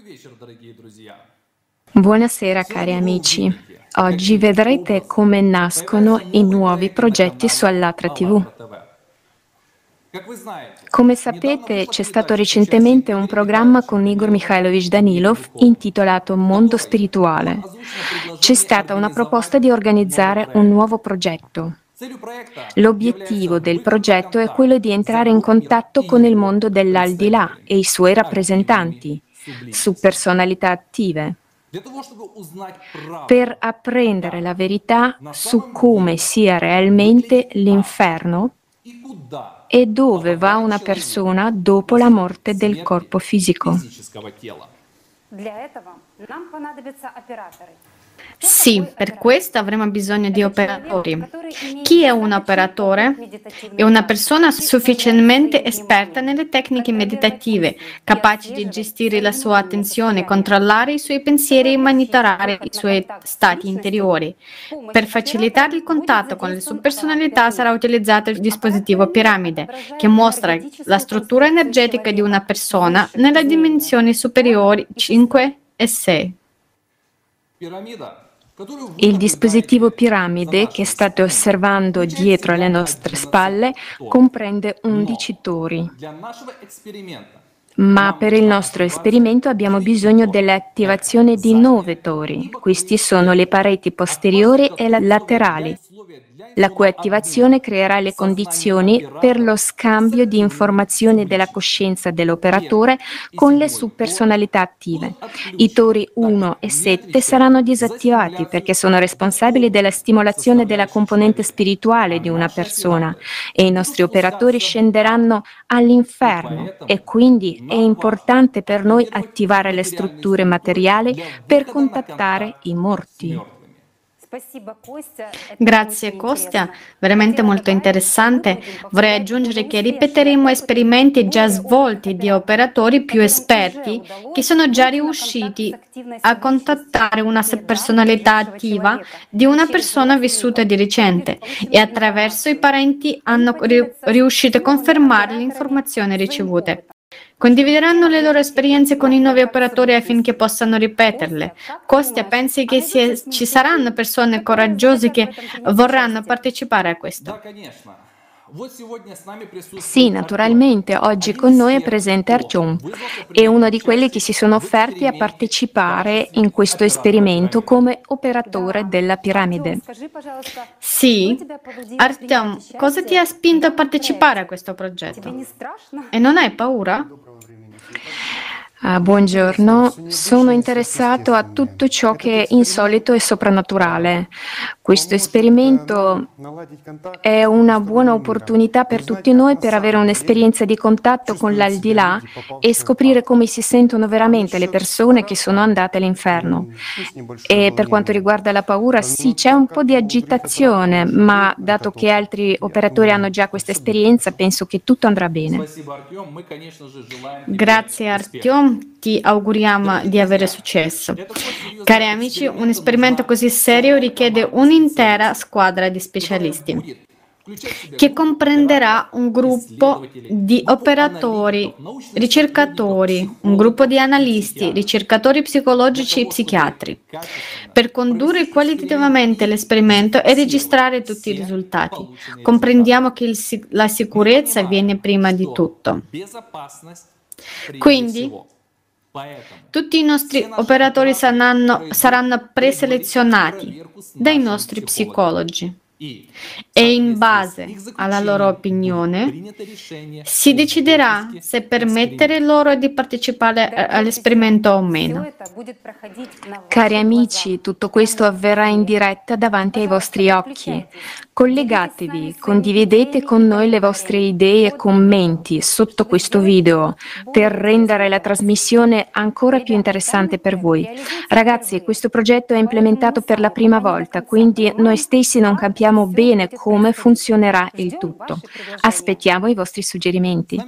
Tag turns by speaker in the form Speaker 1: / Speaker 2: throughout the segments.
Speaker 1: Buonasera cari amici. Oggi vedrete come nascono i nuovi progetti su Allatra TV. Come sapete, c'è stato recentemente un programma con Igor Mikhailovich Danilov intitolato Mondo Spirituale. C'è stata una proposta di organizzare un nuovo progetto. L'obiettivo del progetto è quello di entrare in contatto con il mondo dell'aldilà e i suoi rappresentanti, su personalità attive, per apprendere la verità su come sia realmente l'inferno e dove va una persona dopo la morte del corpo fisico.
Speaker 2: Sì, per questo avremo bisogno di operatori. Chi è un operatore? È una persona sufficientemente esperta nelle tecniche meditative, capace di gestire la sua attenzione, controllare i suoi pensieri e monitorare i suoi stati interiori. Per facilitare il contatto con le sue personalità sarà utilizzato il dispositivo piramide, che mostra la struttura energetica di una persona nelle dimensioni superiori 5 e 6.
Speaker 1: Il dispositivo piramide che state osservando dietro le nostre spalle comprende 11 tori. Ma per il nostro esperimento abbiamo bisogno dell'attivazione di 9 tori. Questi sono le pareti posteriori e laterali, la cui attivazione creerà le condizioni per lo scambio di informazioni della coscienza dell'operatore con le subpersonalità attive. I tori 1 e 7 saranno disattivati perché sono responsabili della stimolazione della componente spirituale di una persona e i nostri operatori scenderanno all'inferno e quindi è importante per noi attivare le strutture materiali per contattare i morti.
Speaker 2: Grazie Kostya, veramente molto interessante. Vorrei aggiungere che ripeteremo esperimenti già svolti di operatori più esperti che sono già riusciti a contattare una personalità attiva di una persona vissuta di recente e attraverso i parenti hanno riuscito a confermare le informazioni ricevute. Condivideranno le loro esperienze con i nuovi operatori affinché possano ripeterle. Kostya, pensi che ci saranno persone coraggiose che vorranno partecipare a questo?
Speaker 1: Sì, naturalmente, oggi con noi è presente Artyom, è uno di quelli che si sono offerti a partecipare in questo esperimento come operatore della piramide.
Speaker 2: Sì, Artyom, cosa ti ha spinto a partecipare a questo progetto? E non hai paura?
Speaker 1: Buongiorno, sono interessato a tutto ciò che è insolito e soprannaturale. Questo esperimento è una buona opportunità per tutti noi per avere un'esperienza di contatto con l'aldilà e scoprire come si sentono veramente le persone che sono andate all'inferno. E per quanto riguarda la paura, sì, c'è un po' di agitazione, ma dato che altri operatori hanno già questa esperienza, penso che tutto andrà bene.
Speaker 2: Grazie Artyom, ti auguriamo di avere successo. Cari amici, un esperimento così serio richiede un'intera squadra di specialisti che comprenderà un gruppo di operatori, ricercatori, un gruppo di analisti, ricercatori psicologici e psichiatri, per condurre qualitativamente l'esperimento e registrare tutti i risultati. Comprendiamo che la sicurezza viene prima di tutto. Quindi, tutti i nostri operatori saranno preselezionati dai nostri psicologi e in base alla loro opinione si deciderà se permettere loro di partecipare all'esperimento o meno.
Speaker 1: Cari amici, tutto questo avverrà in diretta davanti ai vostri occhi. Collegatevi, condividete con noi le vostre idee e commenti sotto questo video per rendere la trasmissione ancora più interessante per voi. Ragazzi, questo progetto è implementato per la prima volta, quindi noi stessi non capiamo bene come funzionerà il tutto. Aspettiamo i vostri suggerimenti.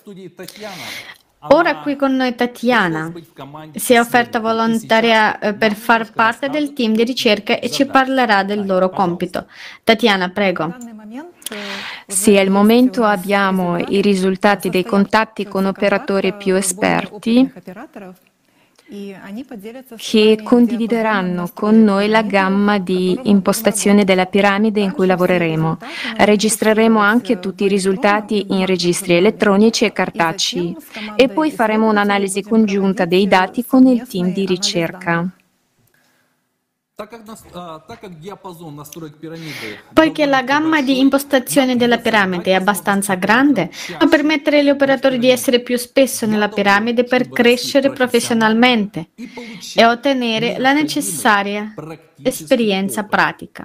Speaker 2: Ora qui con noi Tatiana si è offerta volontaria per far parte del team di ricerca e ci parlerà del loro compito. Tatiana, prego.
Speaker 1: Sì, al momento abbiamo i risultati dei contatti con operatori più esperti che condivideranno con noi la gamma di impostazione della piramide in cui lavoreremo. Registreremo anche tutti i risultati in registri elettronici e cartacei e poi faremo un'analisi congiunta dei dati con il team di ricerca.
Speaker 2: Poiché la gamma di impostazione della piramide è abbastanza grande, può permettere agli operatori di essere più spesso nella piramide per crescere professionalmente e ottenere la necessaria esperienza pratica.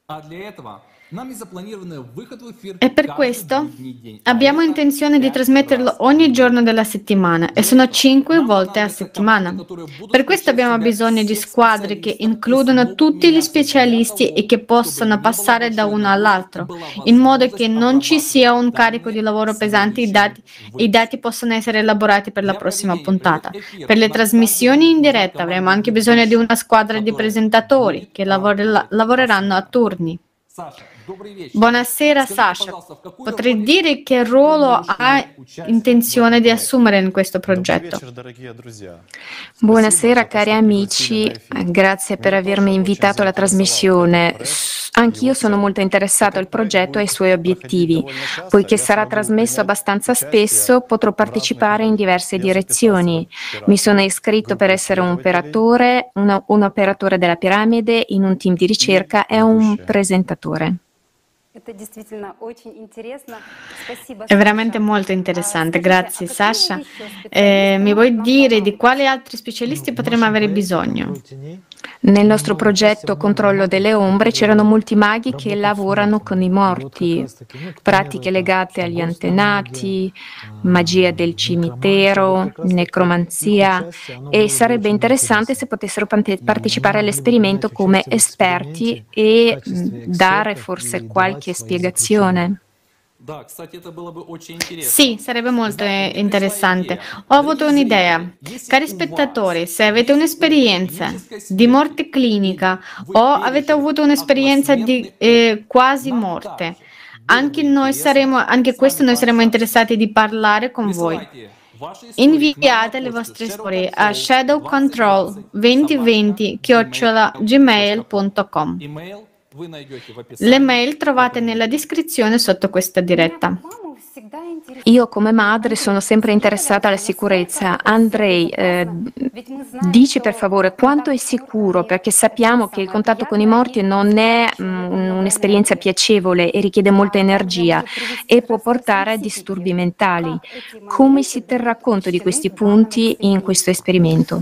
Speaker 2: E per questo abbiamo intenzione di trasmetterlo ogni giorno della settimana e sono 5 volte a settimana. Per questo abbiamo bisogno di squadre che includono tutti gli specialisti e che possano passare da uno all'altro, in modo che non ci sia un carico di lavoro pesante e i dati possano essere elaborati per la prossima puntata. Per le trasmissioni in diretta avremo anche bisogno di una squadra di presentatori che lavoreranno a turni. Buonasera Sasha, potrei dire che ruolo ha intenzione di assumere in questo progetto?
Speaker 1: Buonasera cari amici, grazie per avermi invitato alla trasmissione. Anch'io sono molto interessato al progetto e ai suoi obiettivi. Poiché sarà trasmesso abbastanza spesso, potrò partecipare in diverse direzioni. Mi sono iscritto per essere un operatore, un operatore della piramide, in un team di ricerca e un presentatore.
Speaker 2: È veramente molto interessante, grazie Sasha. Mi vuoi dire di quali altri specialisti potremmo avere bisogno?
Speaker 1: Nel nostro progetto Controllo delle Ombre c'erano molti maghi che lavorano con i morti, pratiche legate agli antenati, magia del cimitero, necromanzia, e sarebbe interessante se potessero partecipare all'esperimento come esperti e dare forse qualche spiegazione.
Speaker 2: Sì, sarebbe molto interessante. Ho avuto un'idea. Cari spettatori, se avete un'esperienza di morte clinica o avete avuto un'esperienza di quasi morte, anche questo noi saremo interessati di parlare con voi. Inviate le vostre storie a shadowcontrol2020@gmail.com. Le mail trovate nella descrizione sotto questa diretta.
Speaker 1: Io come madre sono sempre interessata alla sicurezza. Andrei, dici per favore quanto è sicuro, perché sappiamo che il contatto con i morti non è un'esperienza piacevole e richiede molta energia e può portare a disturbi mentali. Come si terrà conto di questi punti in questo esperimento?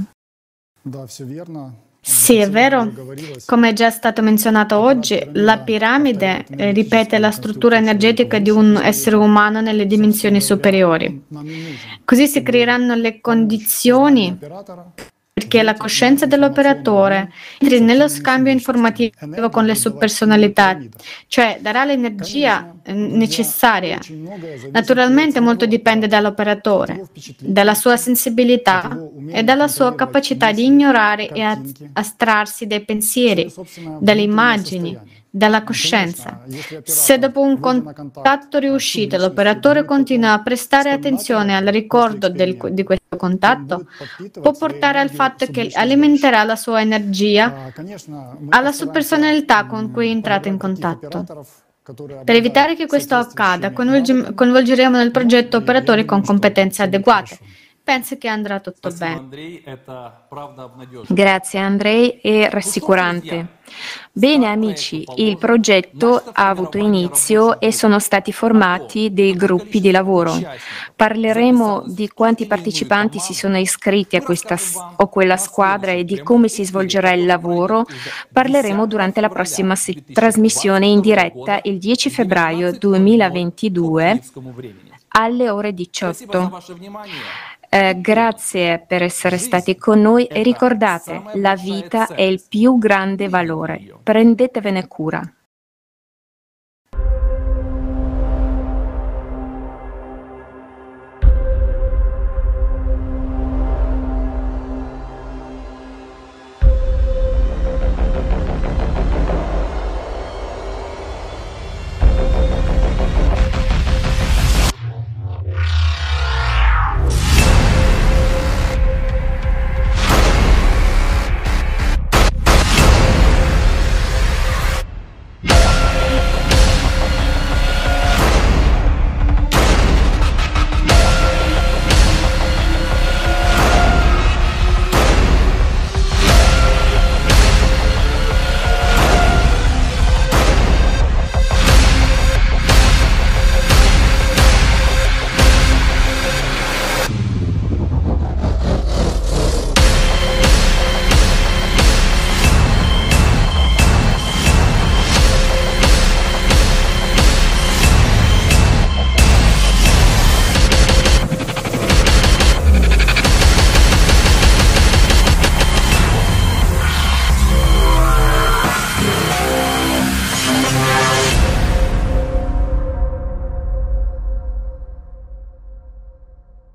Speaker 2: Sì, è vero. Come è già stato menzionato oggi, la piramide ripete la struttura energetica di un essere umano nelle dimensioni superiori. Così si creeranno le condizioni perché la coscienza dell'operatore entri nello scambio informativo con le sue personalità, cioè darà l'energia necessaria. Naturalmente molto dipende dall'operatore, dalla sua sensibilità e dalla sua capacità di ignorare e astrarsi dai pensieri, dalle immagini, dalla coscienza. Se dopo un contatto riuscito l'operatore continua a prestare attenzione al ricordo di questo contatto, può portare al fatto che alimenterà la sua energia alla sua personalità con cui è entrato in contatto. Per evitare che questo accada, coinvolgeremo nel progetto operatori con competenze adeguate. Penso che andrà tutto bene.
Speaker 1: Grazie Andrei, è rassicurante. Bene amici, il progetto ha avuto inizio e sono stati formati dei gruppi di lavoro. Parleremo di quanti partecipanti si sono iscritti a questa o quella squadra e di come si svolgerà il lavoro. Parleremo durante la prossima trasmissione in diretta il 10 febbraio 2022 alle ore 18. Grazie per essere stati con noi e ricordate, la vita è il più grande valore. Prendetevene cura.